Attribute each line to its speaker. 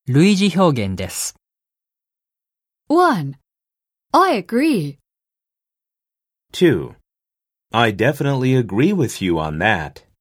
Speaker 1: 類似表現です。
Speaker 2: 1. I agree.
Speaker 3: 2. I definitely agree with you on that.